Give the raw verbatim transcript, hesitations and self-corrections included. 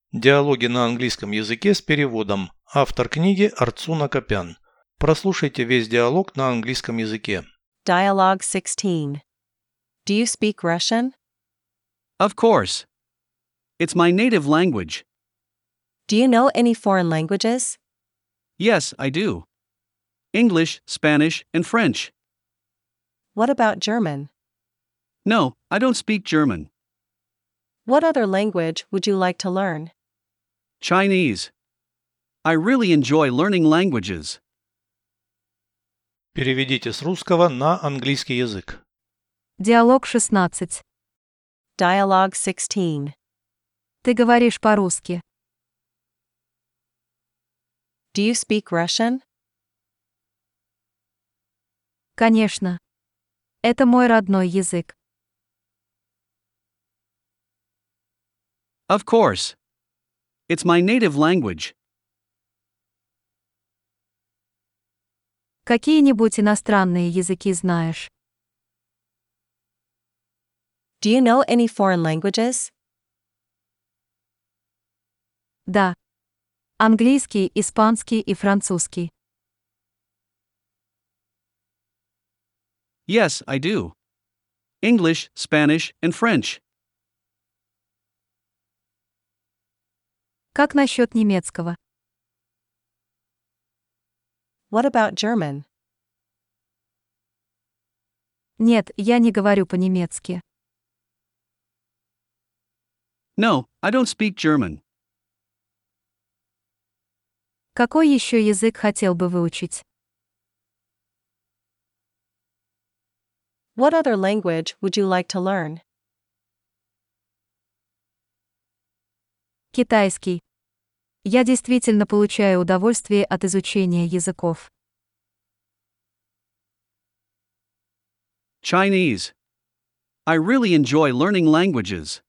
Диалоги на английском языке с переводом. Автор книги Арцуна Копян. Прослушайте весь диалог на английском языке. Dialogue sixteen. Do you speak Russian? Of course. It's my native language. Do you know any foreign languages? Yes, I do. English, Spanish, and French. What about German? No, I don't speak German. What other language would you like to learn? Chinese. I really enjoy learning languages. Переведите с русского на английский язык. Диалог шестнадцать. Dialogue sixteen. Ты говоришь по-русски. Do you speak Russian? Конечно. Это мой родной язык. Of course. It's my native language. Какие-нибудь иностранные языки знаешь? Do you know any foreign languages? Да. Английский, испанский и французский. Yes, I do. English, Spanish, and French. Как насчет немецкого? What about German? Нет, я не говорю по-немецки. No, I don't speak German. Какой еще язык хотел бы выучить? What other language would you like to learn? Китайский. Я действительно получаю удовольствие от изучения языков. Chinese. I really enjoy learning languages.